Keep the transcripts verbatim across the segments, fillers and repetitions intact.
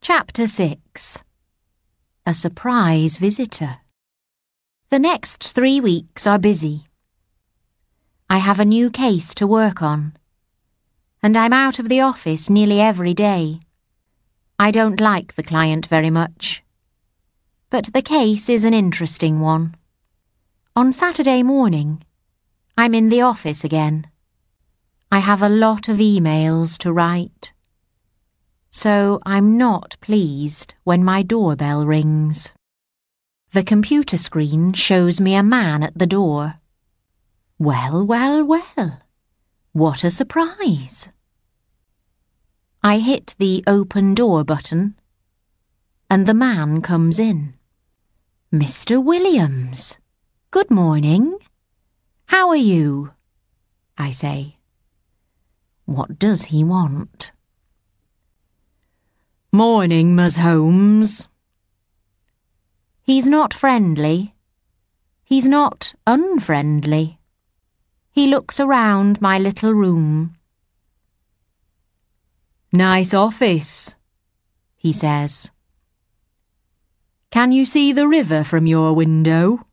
Chapter six. A surprise visitor. The next three weeks are busy. I have a new case to work on, and I'm out of the office nearly every day. I don't like the client very much, but the case is an interesting one. On Saturday morning, I'm in the office again. I have a lot of emails to write, so I'm not pleased when my doorbell rings. The computer screen shows me a man at the door. Well, well, well, what a surprise! I hit the open door button, and the man comes in. Mister Williams, good morning. How are you? I say. What does he want? Morning, Miss Holmes. He's not friendly. He's not unfriendly. He looks around my little room. Nice office, he says. Can you see the river from your window?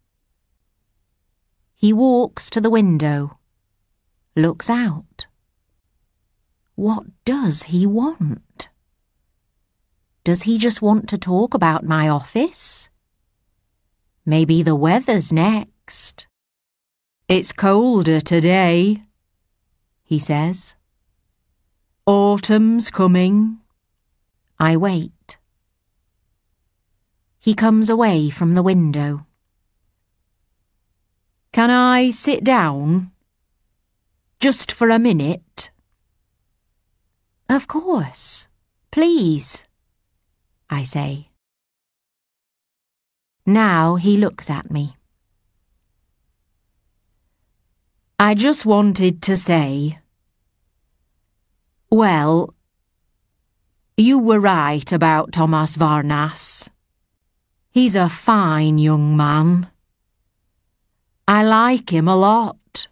He walks to the window, looks out. What does he want? Does he just want to talk about my office? Maybe the weather's next. It's colder today, he says. Autumn's coming. I wait. He comes away from the window. Can I sit down? Just for a minute? Of course. Please, I say. Now he looks at me. I just wanted to say, well, you were right about Thomas Varnas. He's a fine young man. I like him a lot.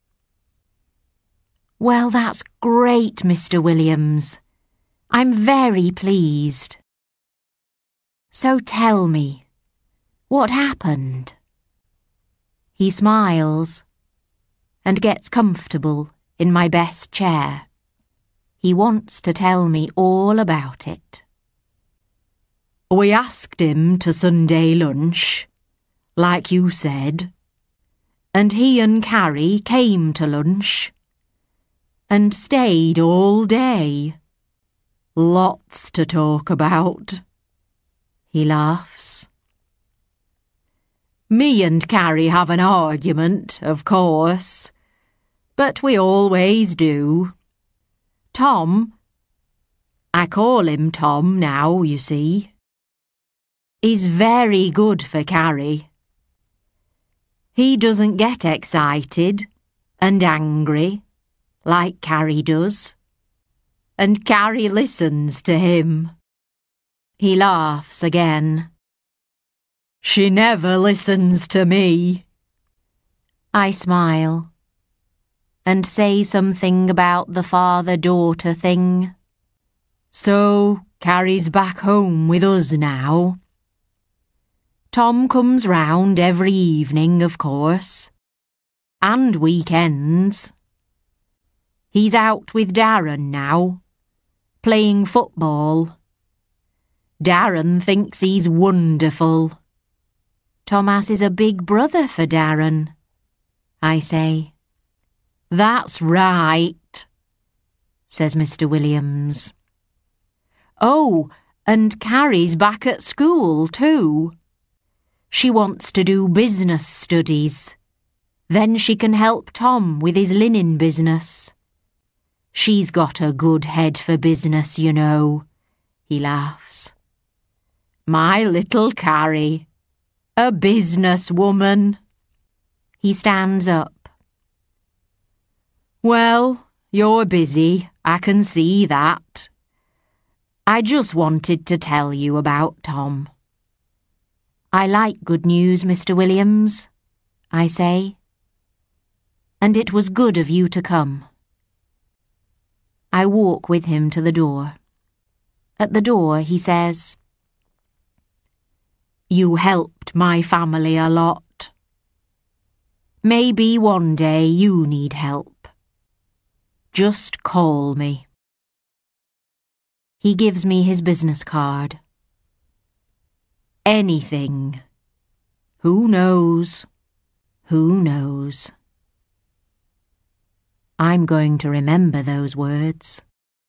Well, that's great, Mister Williams. I'm very pleased. So tell me, what happened? He smiles and gets comfortable in my best chair. He wants to tell me all about it. We asked him to Sunday lunch, like you said, and he and Carrie came to lunch and stayed all day. Lots to talk about. He laughs. Me and Carrie have an argument, of course, but we always do. Tom, I call him Tom now, you see, is very good for Carrie. He doesn't get excited and angry like Carrie does, and Carrie listens to him. He laughs again. She never listens to me. I smile and say something about the father-daughter thing. So Carrie's back home with us now. Tom comes round every evening, of course, and weekends. He's out with Darren now, playing football. Darren thinks he's wonderful. Thomas is a big brother for Darren, I say. That's right, says Mister Williams. Oh, and Carrie's back at school too. She wants to do business studies. Then she can help Tom with his linen business. She's got a good head for business, you know, he laughs. My little Carrie, a businesswoman. He stands up. Well, you're busy, I can see that. I just wanted to tell you about Tom. I like good news, Mister Williams, I say. And it was good of you to come. I walk with him to the door. At the door, he says, "You helped my family a lot. Maybe one day you need help. Just call me." He gives me his business card. Anything. Who knows? Who knows? I'm going to remember those words.